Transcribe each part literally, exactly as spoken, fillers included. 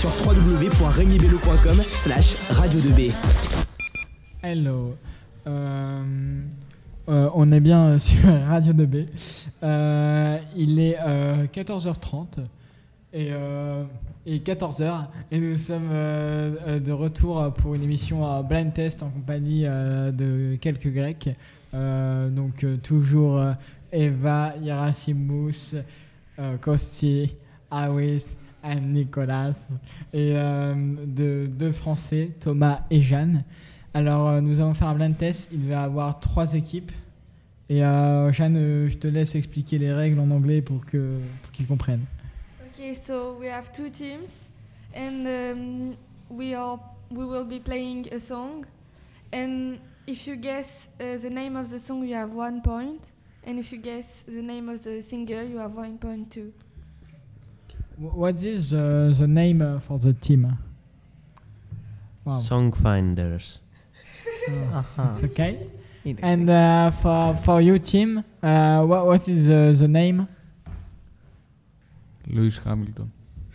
sur w w w point rémi bello point com slash radio deux b. Hello. Euh, euh, on est bien sur Radio deux B. Euh, il est euh, quatorze heures trente et, euh, et quatorze heures et nous sommes euh, de retour pour une émission à Blind Test en compagnie euh, de quelques Grecs. Euh, donc euh, toujours euh, Eva, Yerasimous, euh, Kosti, Awis et Nicolas et euh, de deux Français, Thomas et Jeanne. Alors, euh, nous allons faire un blind test. Il va y avoir trois équipes. Et euh, Jeanne, euh, je te laisse expliquer les règles en anglais pour, que, pour qu'ils comprennent. Okay, so we have two teams, and um, we are we will be playing a song, and if you guess uh, the name of the song, you have one point, and if you guess the name of the singer, you have one point too. What is uh, the name uh, for the team? Wow. Song Finders. Oh, Uh-huh. it's okay. Interesting. And uh, for for your team, uh, what what is uh, the name? Lewis Hamilton.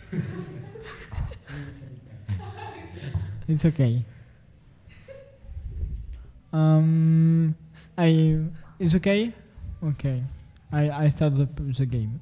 It's okay. Um, I it's okay. Okay, I I start the the game.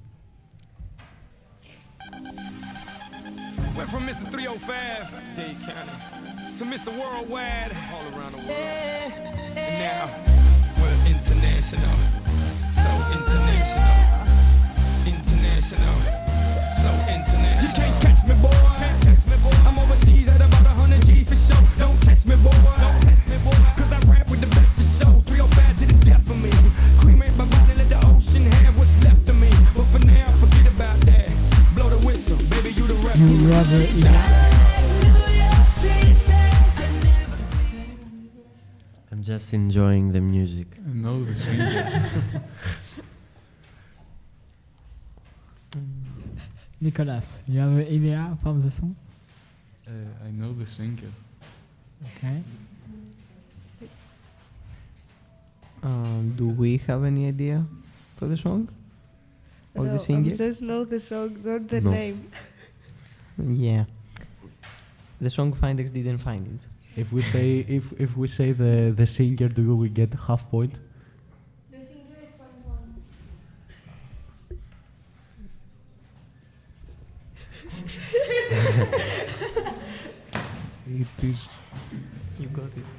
Went from Mister three oh five, Dade County, to Mister Worldwide, all around the world. And now, we're international. So international. International. So international. You can't catch me, boy. Can't catch me, boy. I'm overseas at about one hundred G's for show. Don't test me, boy. Don't test me, boy. Cause I rap with the best for show. three oh five to the death of me. Cremate my body, let the ocean have what's left of me. But for now, forget about that. Blow the whistle, baby, you the rep. You rather I'm just enjoying the music. No, the singer. Nicolas, you have an idea for the song? uh, I know the singer. Okay. Um, do we have any idea for the song? Or the singer? I just know the song, not the No. name. Yeah. The song finders didn't find it. If we say if if we say the the singer, do we get half point? The singer is point one. It is. You got it.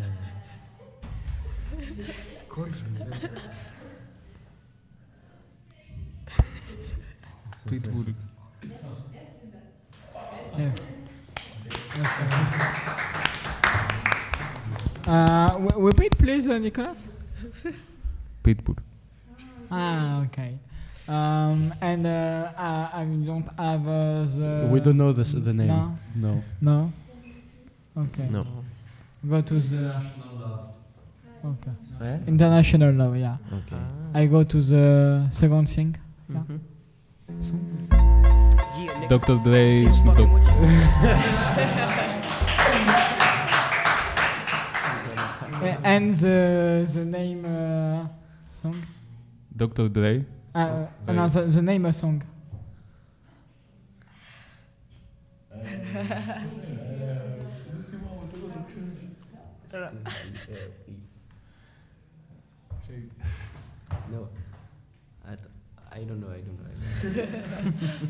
Pitbull. Yeah. Uh, w- repeat, please, uh, Nicolas. Pitbull. Ah, okay. Um, and uh, uh, I don't have uh, the. we don't know the s- the name. No. No. No. Okay. No. Go to the. Okay. Where? International love, yeah. Okay. I go to the second thing. Yeah. Mhm. So, Doctor Dre. Snoop Dogg. uh, and the the name uh, song. Doctor Dre. Uh, uh, no, the, the name of song. No. I, th- I don't know, I don't know. I don't know.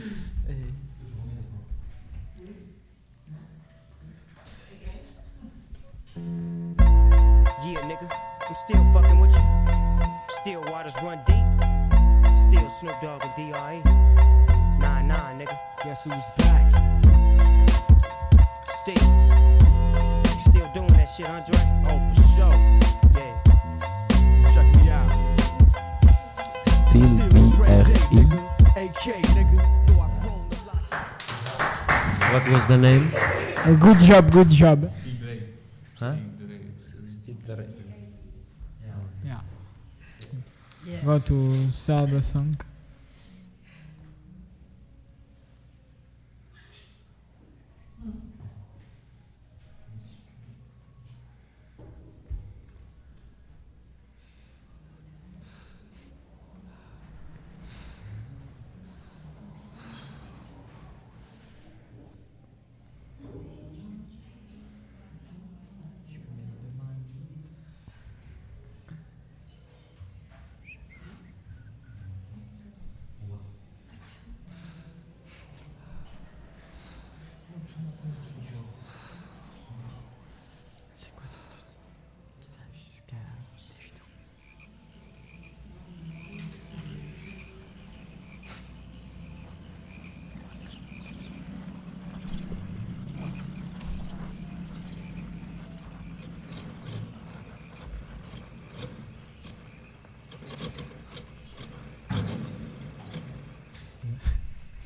Yeah, nigga, I'm still fucking with you. Still waters run deep. Still Snoop Dogg and D R E. Nah, nah, nigga. Guess who's back? Still. Still doing that shit, Andre? Oh, for sure. Yeah. Check me out. Still B R E. A K, nigga. Though I've grown a lot. What was the name? Uh, good job, good job. Huh? Yeah. Yeah. Go to third song.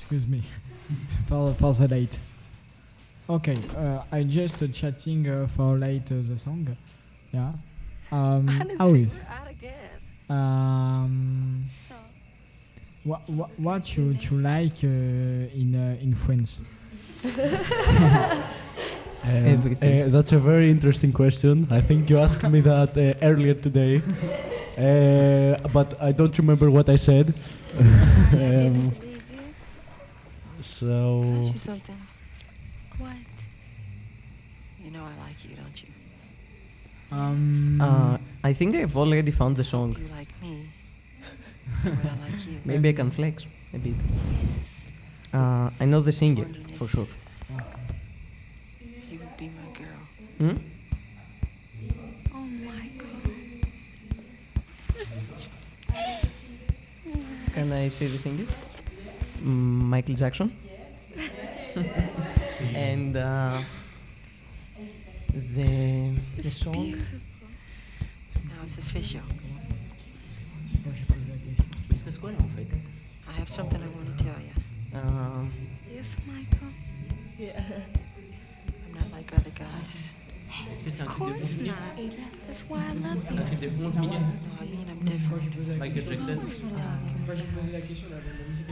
excuse me for for the late. Okay, uh, I just uh, chatting uh, for late uh, the song. Yeah. Um, how is? Um, what what what you you like uh, in uh, in France? Um, Everything. uh, that's a very interesting question. I think you asked me that uh, earlier today, uh, but I don't remember what I said. um, so. Ask you something. What? You know I like you, don't you? Um, Uh, I think I've already found the song. You like me. The way I like you. Maybe I can flex a bit. Uh, I know the singer for sure. You would be my girl. Hmm? Oh my god. Can I say the singer? Mm, Michael Jackson. And uh, the the It's song. beautiful. Now it's official. Il se passe quoi là en fait? I have something I want to tell you. Um, Yes, Michael. Yeah. I'm not like other guys. Est-ce que c'est un Of clip de course onze minutes? not. That's why I love C'est un you. clip de onze minutes. No, I mean I'm different. Michael Jackson. Quand j'ai posé la question, la, la musique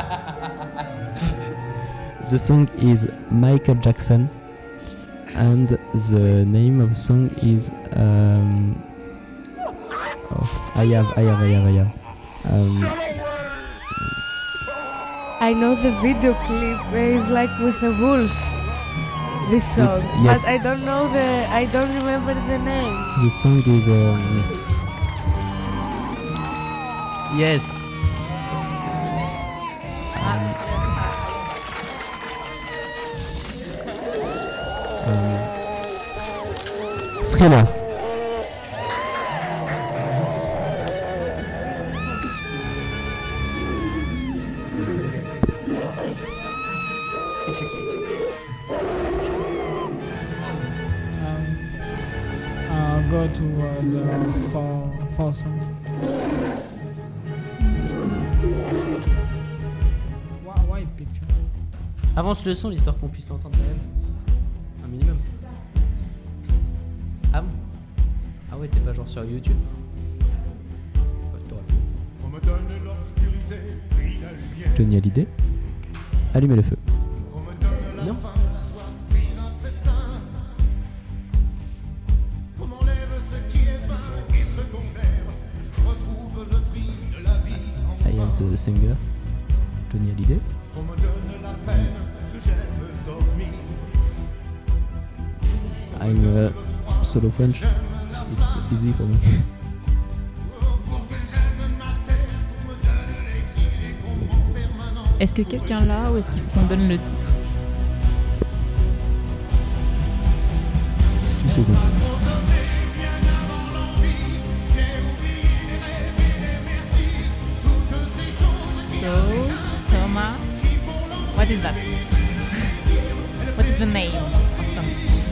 The song is Michael Jackson, and the name of the song is um, oh, I have, I have, I have, I have. Um, I know the video clip is like with the wolves. This song, It's- yes. but I don't know the. I don't remember the name. the song is um, Yes. um, Thriller. It's okay, it's okay. Um, uh, go to uh, the four four song. Why, why picture? Avance le son, l'histoire qu'on puisse l'entendre quand même. Un minimum. Ah bon? Ah ouais, t'es pas genre sur YouTube? Ouais, t'aurais pu. Johnny Hallyday. Allumez le feu. Non. I am the singer. Johnny Hallyday. I'm uh, solo French. It's easy for me. Est-ce que quelqu'un l'a ou est-ce qu'il faut qu'on donne le titre? Two seconds. So, Thomas, what is that? What is the name of song?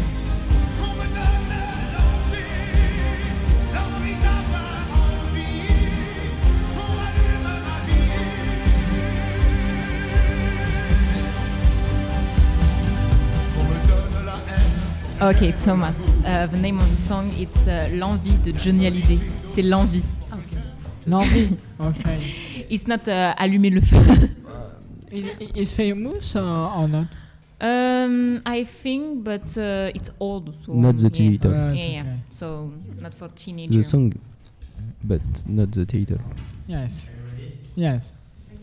Ok, Thomas. Uh, the name of the song it's uh, L'envie de Johnny Hallyday. C'est l'envie. L'envie. Okay. It's not uh, allumer le feu. Is is famous or, or not? Um, I think, but uh, it's old. So Not the yeah. theater. Uh, Yeah, it's yeah. okay. So not for teenagers. The song, but not the theater. Yes. Yes.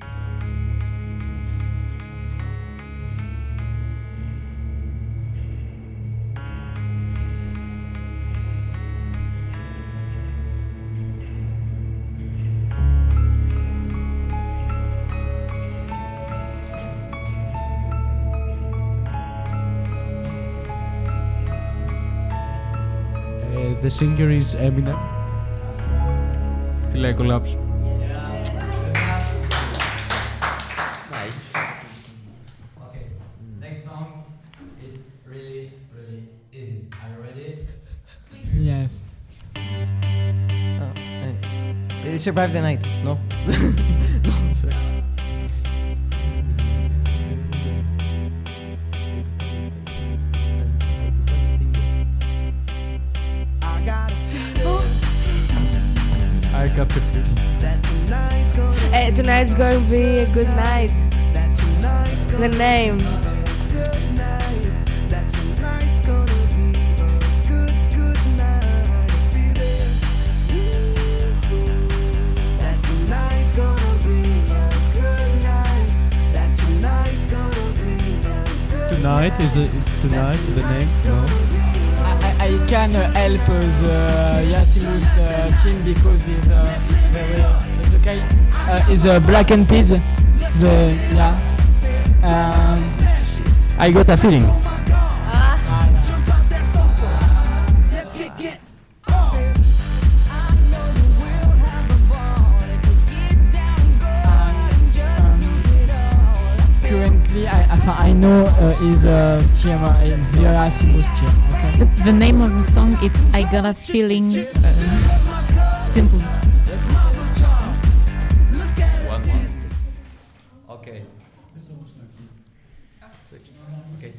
Uh, the singer is Eminem. Till I collapse. Nice. Okay, next song. It's really, really easy. Are you ready? Yes. Oh, uh, it survived the night. No. No, sorry. tonight's going to be a good night. The name. Tonight is the tonight the name. No. I, I, I can uh, help uh, the Yassimus uh, team because it's uh, very. It's okay. Uh, it's uh, Black and Peas. The yeah. Um, I got a feeling. Currently, I, I, I know uh, is uh, team, uh, is the Yassimus team. Okay. The, the name of the song it's I Got a Feeling. Uh, simple. One, one. Okay. Switch. Okay.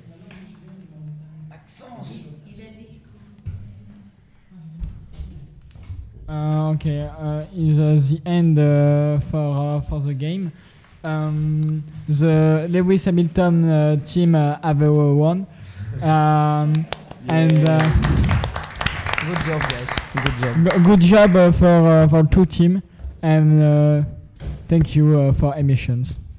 Uh, okay, uh, is uh, the end uh, for uh, for the game. Um, the Lewis Hamilton uh, team uh, have uh, won, um, and uh, Good job, guys. Good job. g- good job uh, for uh, for two team, and uh, thank you uh, for emissions.